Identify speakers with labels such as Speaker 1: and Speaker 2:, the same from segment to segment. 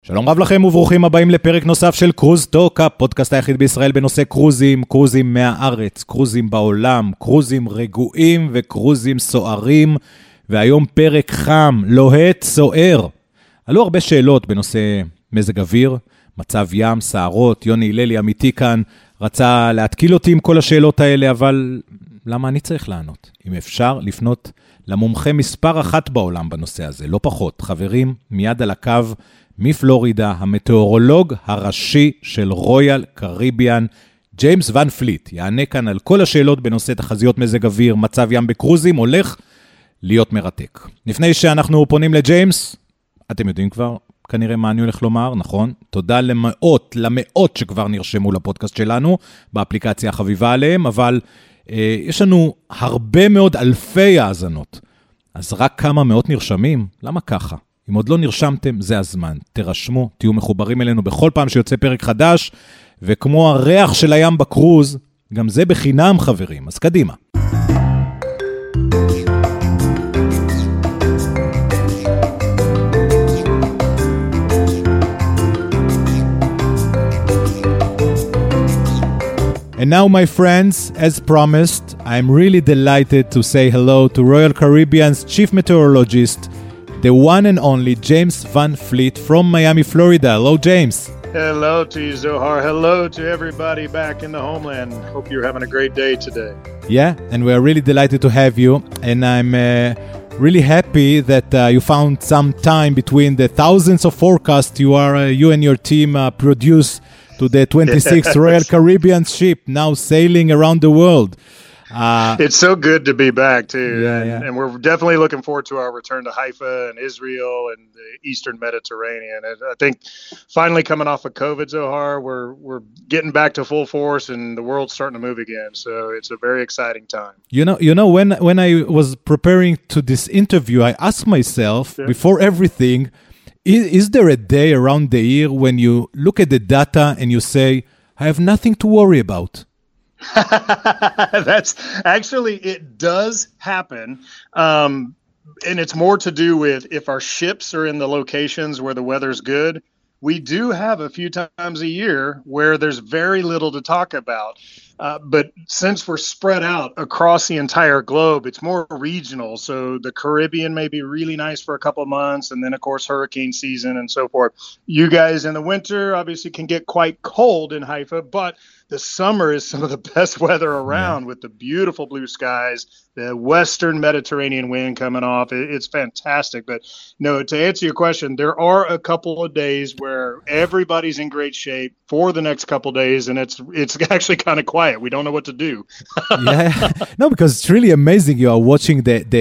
Speaker 1: שלום רב לכם וברוכים הבאים לפרק נוסף של קרוז טוק, הפודקאסט היחיד בישראל בנושא קרוזים, קרוזים מהארץ, קרוזים בעולם, קרוזים רגועים וקרוזים סוערים, והיום פרק חם, לוהט, סוער. עלו הרבה שאלות בנושא מזג אוויר, מצב ים, סערות, יוני הללי אמיתי כאן, רצה להתקיל אותי עם כל השאלות האלה, אבל למה אני צריך לענות? אם אפשר לפנות למומחה מספר אחת בעולם בנושא הזה, לא פחות. חברים, מיד על הקו, מפלורידה, המטאורולוג הראשי של רויאל קריביאן, ג'יימס ון פליט, יענה כאן על כל השאלות בנושא תחזיות מזג אוויר, מצב ים בקרוזים, הולך להיות מרתק. לפני שאנחנו פונים לג'יימס, אתם יודעים כבר כנראה מה אני הולך לומר, נכון? תודה למאות שכבר נרשמו לפודקאסט שלנו, באפליקציה החביבה עליהם, אבל יש לנו הרבה מאוד אלפי האזנות, אז רק כמה מאות נרשמים? למה ככה? אם עוד לא נרשמתם, זה הזמן. תרשמו, תהיו מחוברים אלינו בכל פעם שיוצא פרק חדש, וכמו הריח של הים בקרוז, גם זה בחינם חברים, אז קדימה. And now, my friends, as promised, I'm really delighted to say hello to Royal Caribbean's chief meteorologist, the one and only James Van Fleet from Miami, Florida. Hello, James.
Speaker 2: Hello to you, Zohar. Hello to everybody back in the homeland. Hope you're having a great day today.
Speaker 1: Yeah, and we are really delighted to have you. And I'm really happy that you found some time between the thousands of forecasts you and your team produce to the 26th Royal Caribbean ship now sailing around the world.
Speaker 2: It's so good to be back too.
Speaker 1: Yeah.
Speaker 2: And we're definitely looking forward to our return to Haifa and Israel and the Eastern Mediterranean. And I think finally coming off of COVID, Zohar, we're getting back to full force and the world's starting to move again. So it's a very exciting time.
Speaker 1: You know, when I was preparing to this interview, I asked myself before everything, is there a day around the year when you look at the data and you say, I have nothing to worry about?
Speaker 2: That's actually, it does happen. And it's more to do with if our ships are in the locations where the weather's good. We do have a few times a year where there's very little to talk about. But since we're spread out across the entire globe, it's more regional. So the Caribbean may be really nice for a couple of months. And then, of course, hurricane season and so forth. You guys in the winter obviously can get quite cold in Haifa, but the summer is some of the best weather around with the beautiful blue skies, the Western Mediterranean wind coming off. It's fantastic. But no, to answer your question, there are a couple of days where everybody's in great shape for the next couple of days, and it's actually kind of quiet. We don't know what to do.
Speaker 1: Yeah, no, because it's really amazing. You are watching the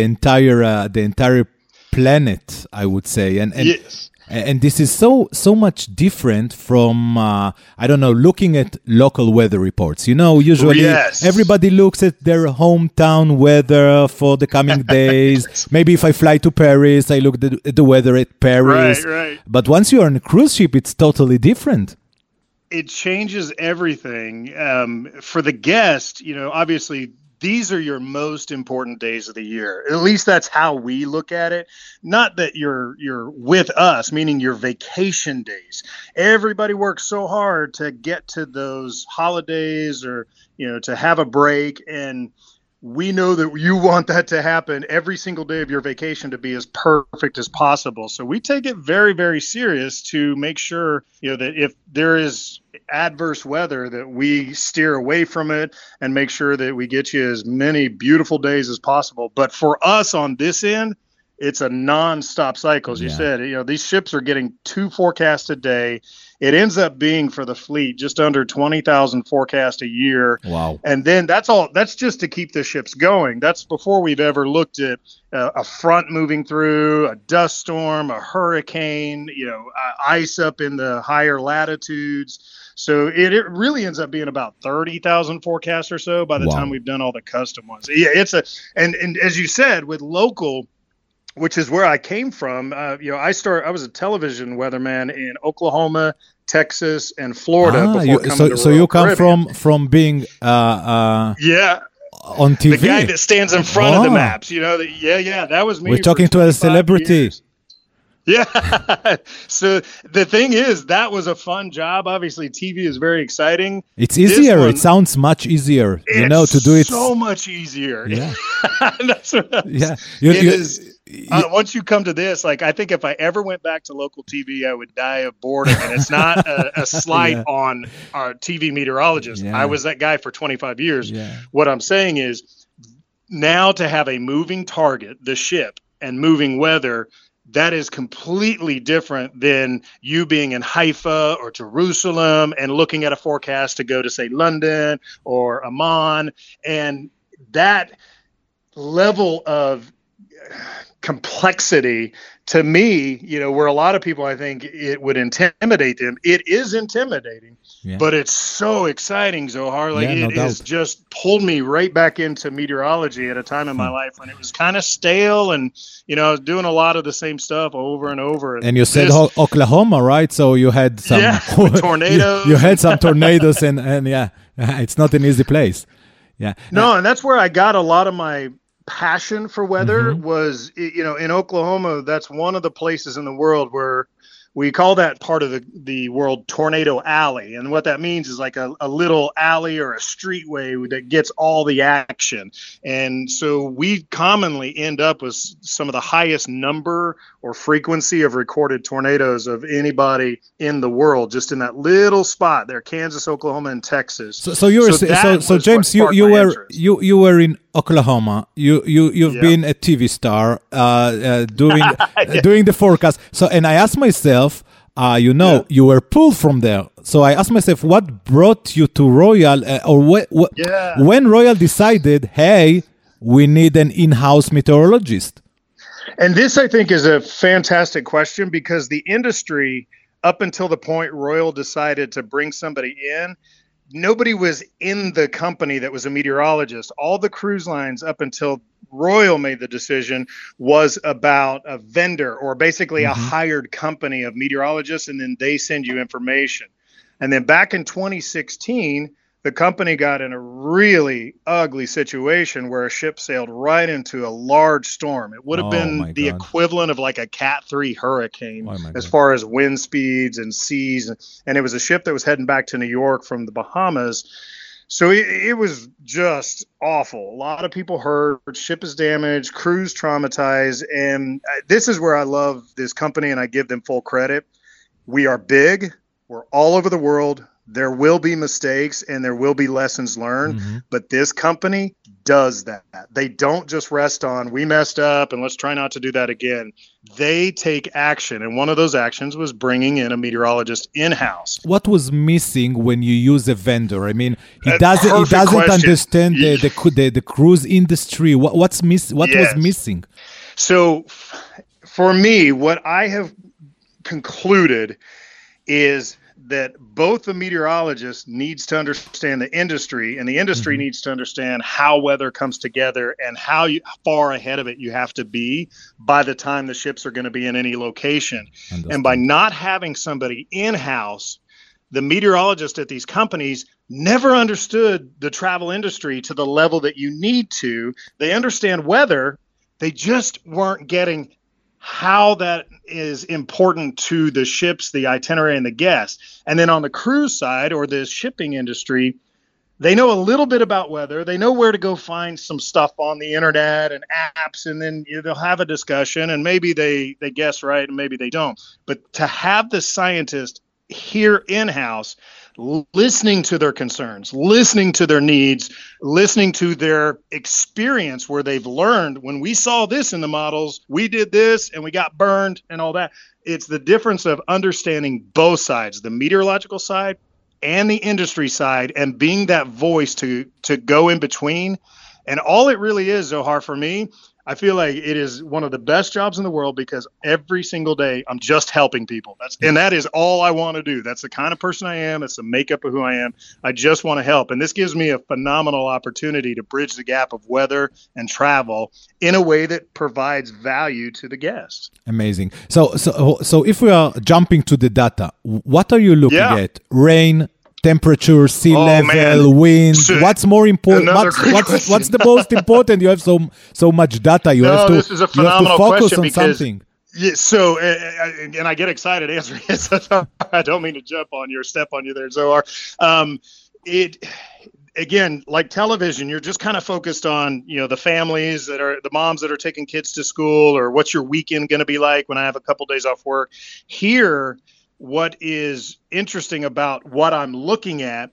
Speaker 1: entire planet, I would say, and
Speaker 2: yes.
Speaker 1: And this is so much different from, I don't know, looking at local weather reports. You know, usually everybody looks at their hometown weather for the coming days. Maybe if I fly to Paris, I look at the weather at Paris.
Speaker 2: Right.
Speaker 1: But once you're on a cruise ship, it's totally different.
Speaker 2: It changes everything. For the guest, you know, obviously, these are your most important days of the year. At least that's how we look at it. Not that you're with us, meaning your vacation days. Everybody works so hard to get to those holidays or, you know, to have a break. And we know that you want that to happen every single day of your vacation to be as perfect as possible. So we take it very, very serious to make sure, you know, that if there is adverse weather, that we steer away from it and make sure that we get you as many beautiful days as possible. But for us on this end, it's a non-stop cycle. As you said, you know, these ships are getting 2 forecasts a day. It ends up being for the fleet just under 20,000 forecasts a year.
Speaker 1: Wow.
Speaker 2: And then that's just to keep the ships going. That's before we've ever looked at a front moving through, a dust storm, a hurricane, you know, ice up in the higher latitudes. So it really ends up being about 30,000 forecasts or so by the time we've done all the custom ones. Yeah, and as you said, with local, which is where I came from. You know, I was a television weatherman in Oklahoma, Texas, and Florida before coming to
Speaker 1: So you come from being on TV.
Speaker 2: The guy that stands in front of the maps, you know. That was me.
Speaker 1: We're talking to a celebrity.
Speaker 2: Years. Yeah. So the thing is, that was a fun job. Obviously, TV is very exciting.
Speaker 1: It's easier. It sounds much easier, to do it.
Speaker 2: So much easier.
Speaker 1: Yeah.
Speaker 2: That's what
Speaker 1: yeah.
Speaker 2: It is. Once you come to this, like, I think if I ever went back to local TV, I would die of boredom. And it's not a slight on our TV meteorologists.
Speaker 1: Yeah.
Speaker 2: I was that guy for 25 years.
Speaker 1: Yeah.
Speaker 2: What I'm saying is, now to have a moving target, the ship, and moving weather, that is completely different than you being in Haifa or Jerusalem and looking at a forecast to go to, say, London or Amman. And that level of complexity, to me, where a lot of people, I think it would intimidate them. It is intimidating, but it's so exciting, Zohar. Like, it has just pulled me right back into meteorology at a time in my life when it was kind of stale, and I was doing a lot of the same stuff over and over.
Speaker 1: And you said Oklahoma, right? So you had some
Speaker 2: tornadoes.
Speaker 1: You had some tornadoes, and it's not an easy place. Yeah.
Speaker 2: No, and that's where I got a lot of my passion for weather. Was, in Oklahoma, that's one of the places in the world where we call that part of the world Tornado Alley. And what that means is like a little alley or a streetway that gets all the action. And so we commonly end up with some of the highest number or frequency of recorded tornadoes of anybody in the world, just in that little spot there, Kansas, Oklahoma, and Texas.
Speaker 1: So James, you were in Oklahoma. You've been a TV star doing the forecast. So, and I asked myself, you were pulled from there. So I asked myself, what brought you to Royal, when Royal decided, hey, we need an in-house meteorologist?
Speaker 2: And this, I think, is a fantastic question, because the industry, up until the point Royal decided to bring somebody in, nobody was in the company that was a meteorologist. All the cruise lines up until Royal made the decision was about a vendor, or basically a hired company of meteorologists, and then they send you information. And then back in 2016, the company got in a really ugly situation where a ship sailed right into a large storm. It would have been the equivalent of like a Cat 3 hurricane as far as wind speeds and seas. And it was a ship that was heading back to New York from the Bahamas. So it was just awful. A lot of people hurt, ship is damaged, crews traumatized. And this is where I love this company, and I give them full credit. We are big. We're all over the world. There will be mistakes and there will be lessons learned, but this company does that. They don't just rest on, we messed up and let's try not to do that again. They take action, and one of those actions was bringing in a meteorologist in-house.
Speaker 1: What was missing when you use a vendor? I mean, he doesn't understand the cruise industry. What was missing?
Speaker 2: So for me, what I have concluded is that both the meteorologist needs to understand the industry, and the industry needs to understand how weather comes together and how far ahead of it you have to be by the time the ships are going to be in any location. And by not having somebody in-house, the meteorologist at these companies never understood the travel industry to the level that you need to. They understand weather. They just weren't getting how that is important to the ships, the itinerary, and the guests. And then on the cruise side, or the shipping industry, they know a little bit about weather. They know where to go find some stuff on the internet and apps, and then they'll have a discussion, and maybe they guess right and maybe they don't. But to have the scientist here in-house, listening to their concerns, listening to their needs, listening to their experience where they've learned, when we saw this in the models, we did this and we got burned and all that. It's the difference of understanding both sides, the meteorological side and the industry side, and being that voice to go in between. And all it really is, Zohar, for me, I feel like it is one of the best jobs in the world, because every single day I'm just helping people. That is all I want to do. That's the kind of person I am. It's the makeup of who I am. I just want to help. And this gives me a phenomenal opportunity to bridge the gap of weather and travel in a way that provides value to the guests.
Speaker 1: Amazing. So if we are jumping to the data, what are you looking at? Rain, temperature, sea level, wind. What's more important? What's the most important? You have so much data. You have to
Speaker 2: this is a phenomenal
Speaker 1: focus
Speaker 2: question,
Speaker 1: on something.
Speaker 2: Yeah, so, and I get excited answering it. So I don't mean to step on you there, Zohar. It again, like television, you're just kind of focused on, the families the moms that are taking kids to school, or what's your weekend going to be like when I have a couple days off work. Here, what is interesting about what I'm looking at,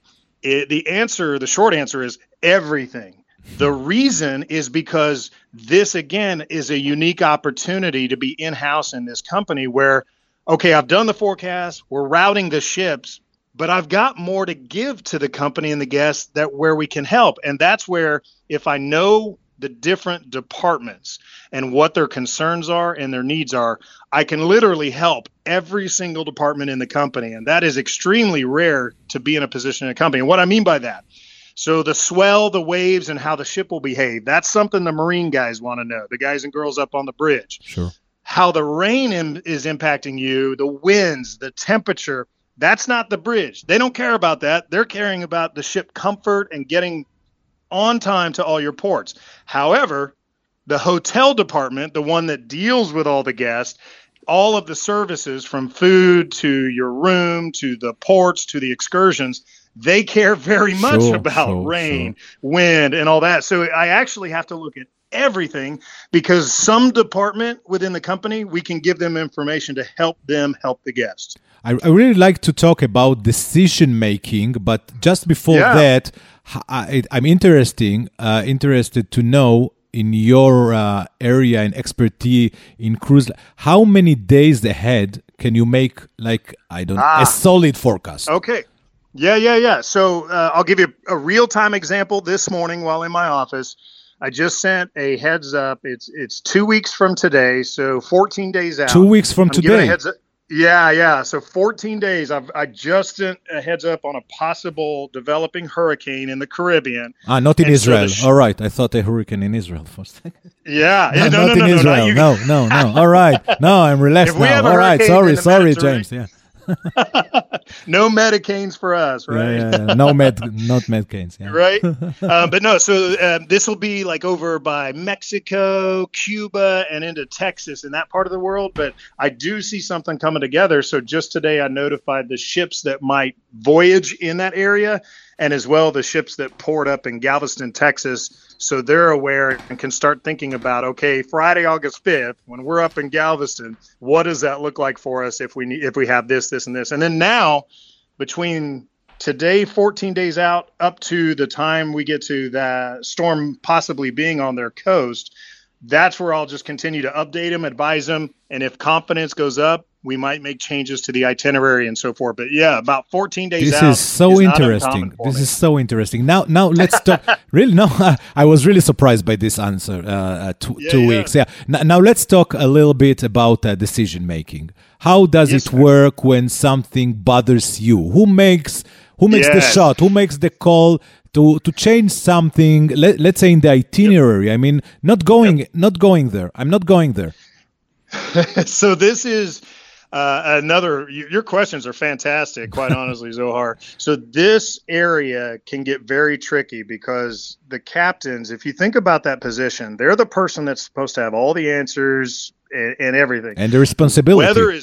Speaker 2: the short answer is everything. The reason is because this, again, is a unique opportunity to be in-house in this company where, okay, I've done the forecast, we're routing the ships, but I've got more to give to the company and the guests where we can help. And that's where, if I know the different departments and what their concerns are and their needs are, I can literally help every single department in the company. And that is extremely rare to be in a position in a company. And what I mean by that, so the swell, the waves, and how the ship will behave, that's something the Marine guys want to know, the guys and girls up on the bridge.
Speaker 1: Sure.
Speaker 2: How the rain is impacting you, the winds, the temperature, that's not the bridge. They don't care about that. They're caring about the ship comfort and getting on time to all your ports. However, the hotel department, the one that deals with all the guests, all of the services from food to your room to the ports to the excursions, they care very much about rain, wind, and all that. So I actually have to look at everything, because some department within the company, we can give them information to help them help the guests.
Speaker 1: I really like to talk about decision making, but just before that, I'm interested to know, in your area and expertise in cruise, how many days ahead can you make, like, a solid forecast?
Speaker 2: Okay. Yeah. So I'll give you a real-time example. This morning while in my office, I just sent a heads up. It's 2 weeks from today, so 14 days out.
Speaker 1: 2 weeks from today?
Speaker 2: Yeah. So 14 days. I just sent a heads up on a possible developing hurricane in the Caribbean.
Speaker 1: Not in Israel. All right. I thought a hurricane in Israel for a second.
Speaker 2: Yeah.
Speaker 1: Not in Israel. No. All right. No, I'm relaxed now. All right. Sorry, James. Yeah.
Speaker 2: No Medicanes for us, right?
Speaker 1: Yeah. Not Medicanes. Yeah.
Speaker 2: Right. But no, so this will be like over by Mexico, Cuba, and into Texas and that part of the world. But I do see something coming together. So just today I notified the ships that might voyage in that area, and as well the ships that poured up in Galveston, Texas. So they're aware and can start thinking about, okay, Friday, August 5th, when we're up in Galveston, what does that look like for us if we have this, and this? And then now, between today, 14 days out, up to the time we get to that storm possibly being on their coast, that's where I'll just continue to update them, advise them, and if confidence goes up, we might make changes to the itinerary and so forth. But yeah, about 14 days out.
Speaker 1: This is so interesting. This is so interesting. Now let's talk. Really, no, I was really surprised by this answer. 2 weeks. Yeah. Now let's talk a little bit about decision making. How does it work when something bothers you? Who makes the shot? Who makes the call to change something? Let's say in the itinerary. I mean, not going there. I'm not going there.
Speaker 2: So this is. Your questions are fantastic, quite honestly, Zohar. So this area can get very tricky because the captains, if you think about that position, they're the person that's supposed to have all the answers and everything.
Speaker 1: And the responsibility.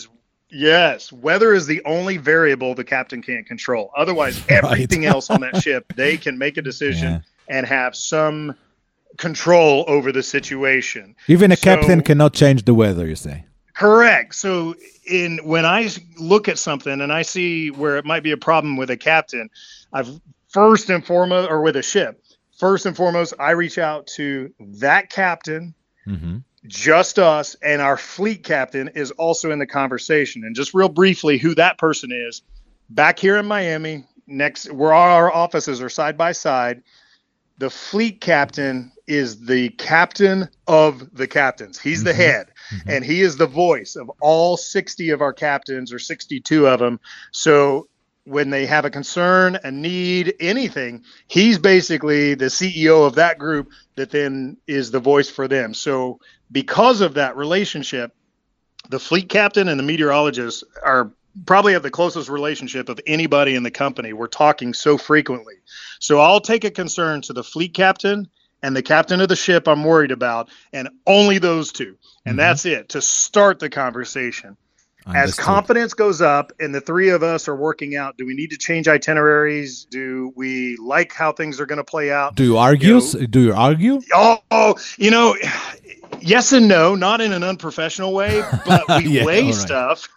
Speaker 2: Weather is the only variable the captain can't control. Otherwise, everything else on that ship, they can make a decision and have some control over the situation.
Speaker 1: Even a captain cannot change the weather, you say?
Speaker 2: Correct. So when I look at something and I see where it might be a problem with a captain, first and foremost, I reach out to that captain, just us, and our fleet captain is also in the conversation. And just real briefly, who that person is, back here in Miami, where our offices are side by side, the fleet captain is the captain of the captains. He's the head, and he is the voice of all 60 of our captains, or 62 of them. So when they have a concern, a need, anything, he's basically the CEO of that group that then is the voice for them. So because of that relationship, the fleet captain and the meteorologist are probably have the closest relationship of anybody in the company. We're talking so frequently. So I'll take a concern to the fleet captain, and the captain of the ship I'm worried about, and only those two. And that's it, to start the conversation. As confidence goes up and the three of us are working out, do we need to change itineraries? Do we like how things are going to play out?
Speaker 1: Do you argue? Do you argue?
Speaker 2: Oh, yes and no, not in an unprofessional way, but we weigh stuff.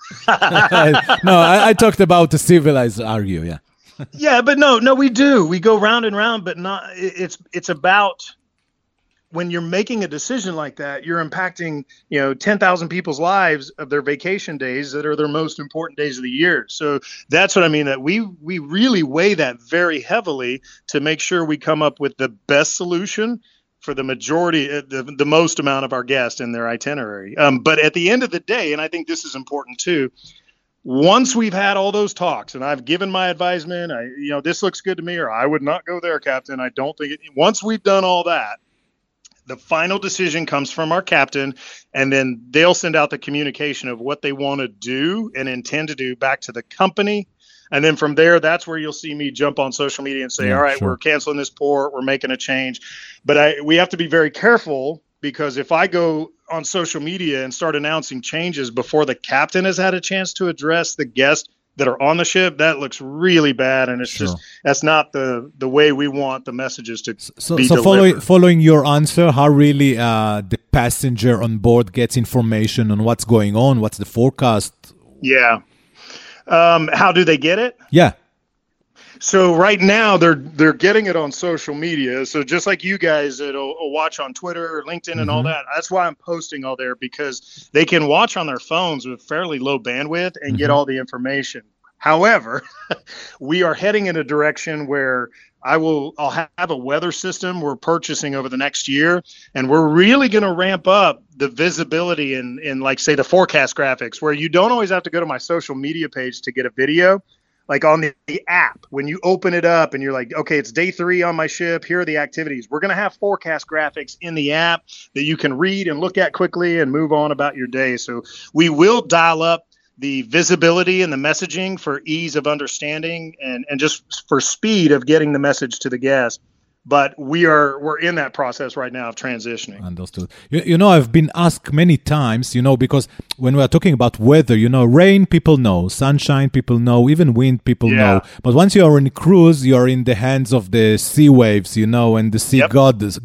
Speaker 1: No, I talked about the civilized argue, yeah.
Speaker 2: Yeah, but no, we do. We go round and round, but not. It's about when you're making a decision like that, you're impacting 10,000 people's lives of their vacation days that are their most important days of the year. So that's what I mean. That we really weigh that very heavily to make sure we come up with the best solution for the majority, the most amount of our guests in their itinerary. But at the end of the day, and I think this is important too, once we've had all those talks and I've given my advisement, this looks good to me, or I would not go there, Captain. I don't think it. Once we've done all that, the final decision comes from our captain, and then they'll send out the communication of what they want to do and intend to do back to the company. And then from there, that's where you'll see me jump on social media and say, all right, we're canceling this port, we're making a change. But we have to be very careful, because if I go on social media and start announcing changes before the captain has had a chance to address the guests that are on the ship, that looks really bad, and it's just that's not the way we want the messages to be delivered.
Speaker 1: Following your answer, how really the passenger on board gets information on what's going on, what's the forecast?
Speaker 2: Yeah. How do they get it?
Speaker 1: Yeah.
Speaker 2: So right now they're getting it on social media. So just like you guys that'll watch on Twitter or LinkedIn and all that, that's why I'm posting all there, because they can watch on their phones with fairly low bandwidth and get all the information. However, we are heading in a direction where I'll have a weather system we're purchasing over the next year, and we're really going to ramp up the visibility in like, say, the forecast graphics, where you don't always have to go to my social media page to get a video. Like on the app, when you open it up and you're like, okay, it's day 3 on my ship, here are the activities. We're going to have forecast graphics in the app that you can read and look at quickly and move on about your day. So we will dial up the visibility and the messaging for ease of understanding and just for speed of getting the message to the guest. But we're in that process right now of transitioning.
Speaker 1: Understood. I've been asked many times, because when we are talking about weather, rain, people know, sunshine, people know, even wind, people know. But once you are on a cruise, you are in the hands of the sea waves, and the sea gods,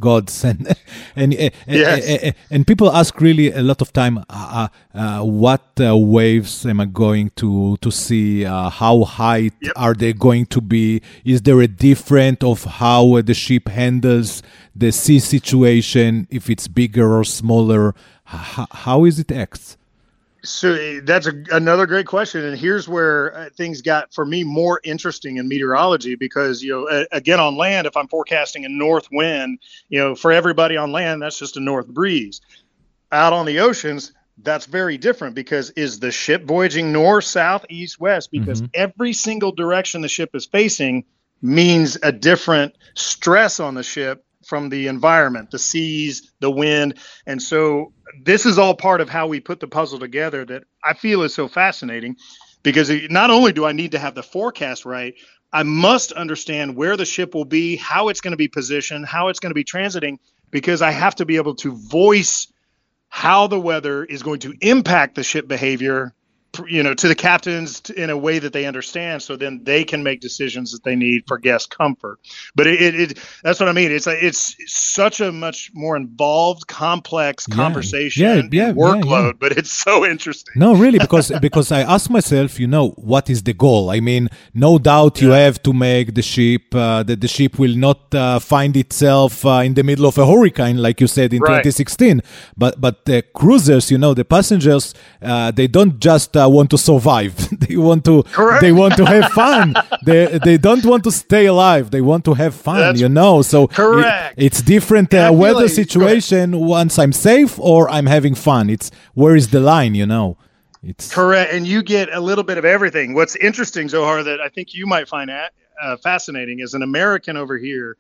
Speaker 1: and people ask really a lot of time, what waves am I going to see? How high are they going to be? Is there a difference of how the ship handles the sea situation, if it's bigger or smaller? How is it acts?
Speaker 2: So that's another great question, and here's where things got, for me, more interesting in meteorology, because again, on land, if I'm forecasting a north wind, for everybody on land, that's just a north breeze. Out on the oceans, that's very different, because is the ship voyaging north, south, east, west? Because every single direction the ship is facing means a different stress on the ship from the environment, the seas, the wind. And so this is all part of how we put the puzzle together that I feel is so fascinating, because not only do I need to have the forecast right, I must understand where the ship will be, how it's going to be positioned, how it's going to be transiting, because I have to be able to voice how the weather is going to impact the ship behavior, to the captains in a way that they understand, so then they can make decisions that they need for guest comfort. But that's what I mean. It's such a much more involved, complex conversation, workload, but it's so interesting.
Speaker 1: No, really, because I ask myself, what is the goal? I mean, no doubt you have to make the ship, that the ship will not find itself in the middle of a hurricane, like you said in 2016. But the cruisers, the passengers, they don't just want to survive. They want to have fun. They don't want to stay alive. They want to have fun, So it's different weather situation. Once I'm safe or I'm having fun. It's where is the line, It's
Speaker 2: correct. And you get a little bit of everything. What's interesting, Zohar, that I think you might find fascinating, as an American over here,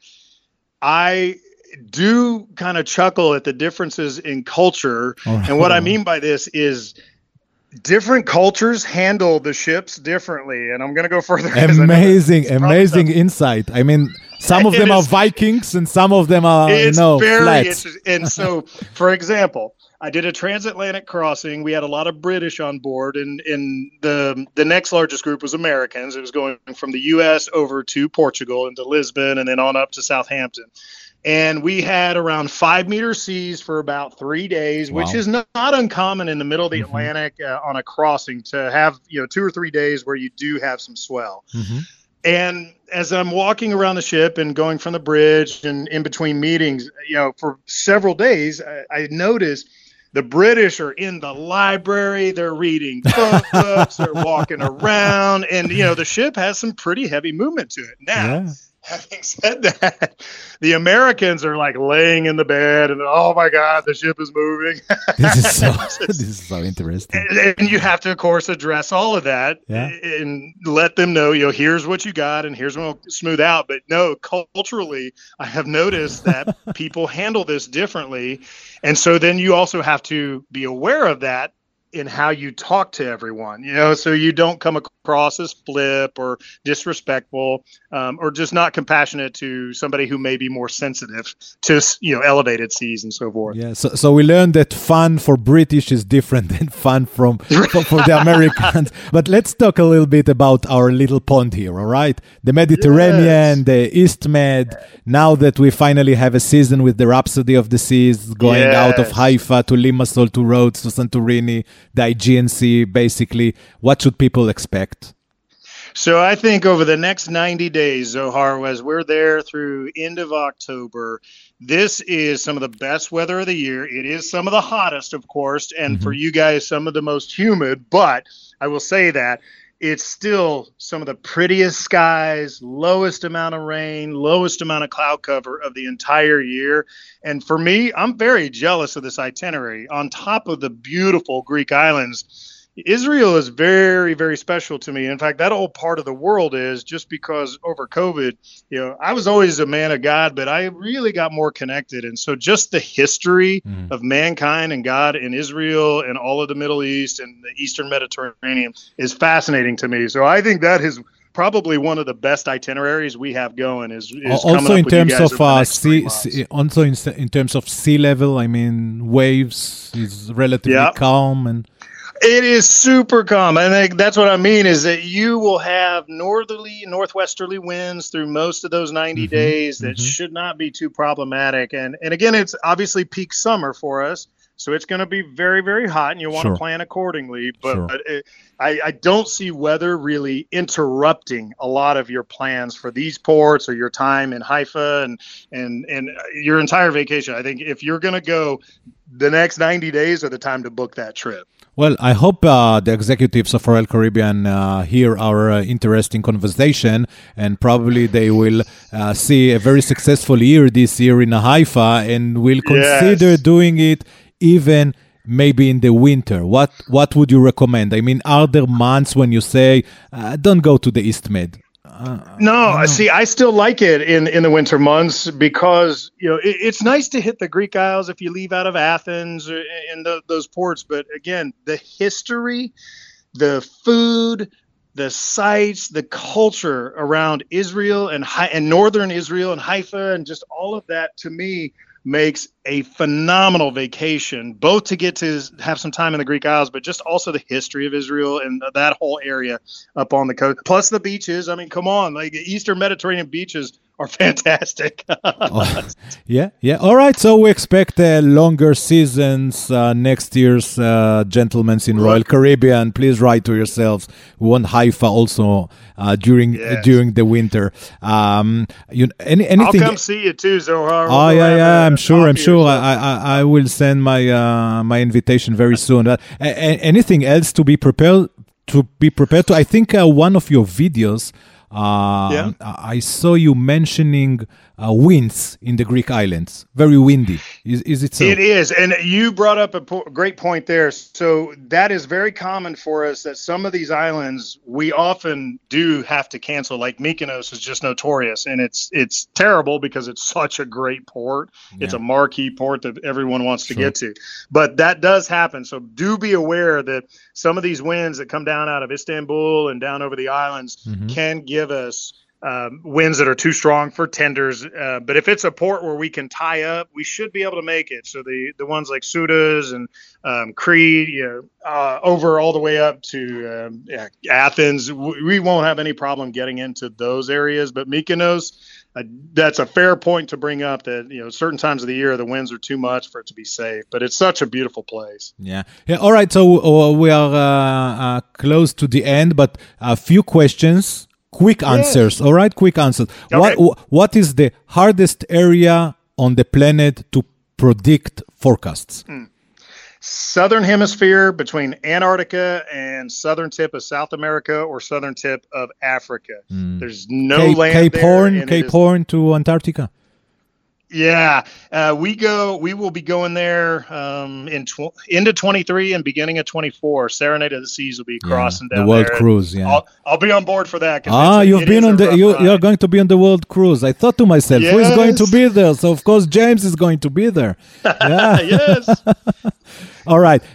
Speaker 2: I do kind of chuckle at the differences in culture. And what I mean by this is, different cultures handle the ships differently, and I'm going to go further.
Speaker 1: Amazing insight. I mean, some of them are Vikings, and some of them are
Speaker 2: very
Speaker 1: flats.
Speaker 2: interesting. And so, for example, I did a transatlantic crossing. We had a lot of British on board, and the next largest group was Americans. It was going from the U.S. over to Portugal into Lisbon, and then on up to Southampton. And we had around 5-meter seas for about 3 days, which is not uncommon in the middle of the Atlantic on a crossing to have 2 or 3 days where you do have some swell. And as I'm walking around the ship and going from the bridge and in between meetings, for several days, I noticed the British are in the library, they're reading books, they're walking around, and the ship has some pretty heavy movement to it. Now, having said that, the Americans are like laying in the bed and, oh my God, the ship is moving.
Speaker 1: This is so interesting.
Speaker 2: And you have to, of course, address all of that and let them know, here's what you got and here's what will smooth out. But no, culturally, I have noticed that people handle this differently. And so then you also have to be aware of that in how you talk to everyone, so you don't come across as flip or disrespectful, or just not compassionate to somebody who may be more sensitive to, elevated seas and so forth.
Speaker 1: Yeah. So we learned that fun for British is different than fun for the Americans. But let's talk a little bit about our little pond here. All right. The Mediterranean, the East Med. Now that we finally have a season with the Rhapsody of the Seas going out of Haifa to Limassol to Rhodes to Santorini, the Aegean Sea, basically, what should people expect?
Speaker 2: So I think over the next 90 days, Zohar, as we're there through end of October, this is some of the best weather of the year. It is some of the hottest, of course, and for you guys, some of the most humid. But I will say that it's still some of the prettiest skies, lowest amount of rain, lowest amount of cloud cover of the entire year. And for me, I'm very jealous of this itinerary. On top of the beautiful Greek islands, Israel is very, very special to me. In fact, that whole part of the world is, just because over COVID, I was always a man of God, but I really got more connected. And so just the history of mankind and God in Israel and all of the Middle East and the Eastern Mediterranean is fascinating to me. So I think that is probably one of the best itineraries we have going. Is
Speaker 1: also in terms of in terms of sea level. I mean, waves is relatively calm and.
Speaker 2: It is super calm. I think that's what I mean, is that you will have northwesterly winds through most of those 90 days that should not be too problematic. And again, it's obviously peak summer for us, so it's going to be very, very hot, and you want to plan accordingly. But I don't see weather really interrupting a lot of your plans for these ports or your time in Haifa and your entire vacation. I think if you're going to go, the next 90 days are the time to book that trip.
Speaker 1: Well, I hope the executives of Royal Caribbean hear our interesting conversation, and probably they will see a very successful year this year in Haifa, and will consider doing it even maybe in the winter. What would you recommend? I mean, are there months when you say, don't go to the East Med?
Speaker 2: No, see, I still like it in the winter months because, it's nice to hit the Greek Isles if you leave out of Athens and those ports. But again, the history, the food, the sights, the culture around Israel and northern Israel and Haifa and just all of that, to me, makes a phenomenal vacation, both to get to have some time in the Greek Isles, but just also the history of Israel and that whole area up on the coast. Plus the beaches. I mean, come on, like the Eastern Mediterranean beaches are fantastic.
Speaker 1: Yeah. All right. So we expect longer seasons next year's gentlemen in Royal Caribbean. Please write to yourselves. We want Haifa also during the winter. Anything?
Speaker 2: I'll come see you too, Zohar.
Speaker 1: I'm sure. I will send my invitation very soon. Anything else to be prepared to? I think one of your videos I saw you mentioning winds in the Greek islands. Very windy. Is it so?
Speaker 2: It is. And you brought up a great point there. So that is very common for us, that some of these islands, we often do have to cancel. Like Mykonos is just notorious. And it's terrible because it's such a great port. Yeah. It's a marquee port that everyone wants to get to. But that does happen. So do be aware that some of these winds that come down out of Istanbul and down over the islands can give us winds that are too strong for tenders. But if it's a port where we can tie up, we should be able to make it. So the ones like Sudas and Crete, over all the way up to Athens, we won't have any problem getting into those areas. But Mykonos, that's a fair point to bring up, that certain times of the year the winds are too much for it to be safe. But it's such a beautiful place.
Speaker 1: Yeah. All right. So we are close to the end, but a few questions. Quick answers, all right? Quick answers. Okay. What is the hardest area on the planet to predict forecasts?
Speaker 2: Southern hemisphere, between Antarctica and southern tip of South America or southern tip of Africa. There's no land there.
Speaker 1: Cape Horn to Antarctica.
Speaker 2: Yeah, we will be going there into 23 and beginning of 24. Serenade of the Seas will be crossing down
Speaker 1: the world
Speaker 2: there.
Speaker 1: Cruise. Yeah,
Speaker 2: I'll be on board for that.
Speaker 1: You've been on you're going to be on the world cruise. I thought to myself, who is going to be there? So of course James is going to be there. Yeah.
Speaker 2: Yes.
Speaker 1: All right.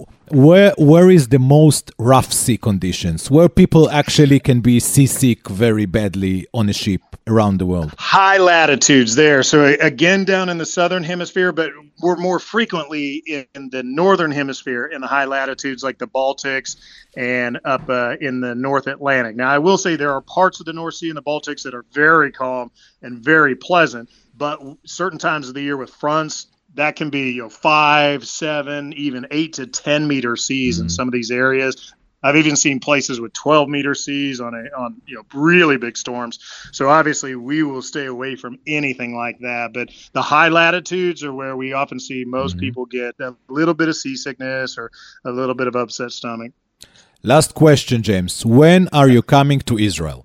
Speaker 1: Where is the most rough sea conditions, where people actually can be seasick very badly on a ship around the world?
Speaker 2: High latitudes there. So again, down in the southern hemisphere, but we're more frequently in the northern hemisphere in the high latitudes like the Baltics and up in the North Atlantic. Now, I will say there are parts of the North Sea and the Baltics that are very calm and very pleasant, but certain times of the year with fronts, that can be 5, 7, even 8 to 10 meter seas in some of these areas. I've even seen places with 12 meter seas on really big storms. So obviously we will stay away from anything like that. But the high latitudes are where we often see most people get a little bit of seasickness or a little bit of upset stomach.
Speaker 1: Last question, James. When are you coming to Israel?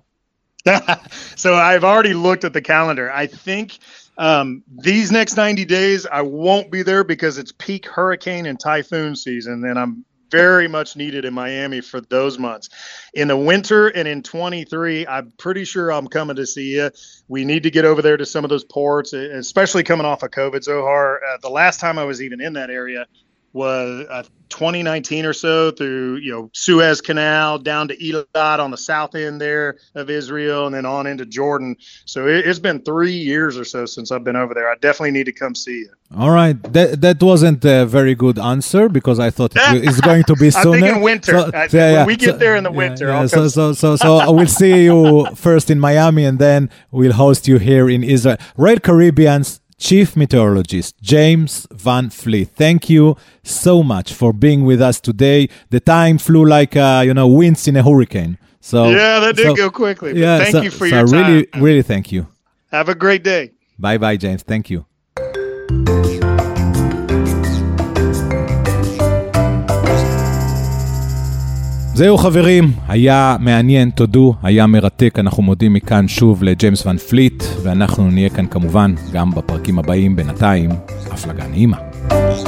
Speaker 2: So I've already looked at the calendar. I think these next 90 days, I won't be there because it's peak hurricane and typhoon season, and I'm very much needed in Miami for those months. In the winter and in 23, I'm pretty sure I'm coming to see you. We need to get over there to some of those ports, especially coming off of COVID, Zohar. The last time I was even in that area was 2019 or so, through Suez Canal down to Eilat on the south end there of Israel, and then on into Jordan. So it's been 3 years or so since I've been over there. I definitely need to come see you.
Speaker 1: All right, that wasn't a very good answer because I thought it's going to be sooner.
Speaker 2: I'm thinking winter. When we get there in the winter, I'll come.
Speaker 1: So I will see you first in Miami, and then we'll host you here in Israel. Red Caribbean's Chief Meteorologist James Van Fleet, thank you so much for being with us today. The time flew like winds in a hurricane. So
Speaker 2: that did go quickly. But thank you for your time.
Speaker 1: Really thank you.
Speaker 2: Have a great day.
Speaker 1: Bye, James. Thank you. זהו חברים, היה מעניין, תודו, היה מרתק, אנחנו מודים מכאן שוב לג'יימס ון פליט, ואנחנו נהיה כאן כמובן גם בפרקים הבאים. בינתיים, הפלגה נעימה.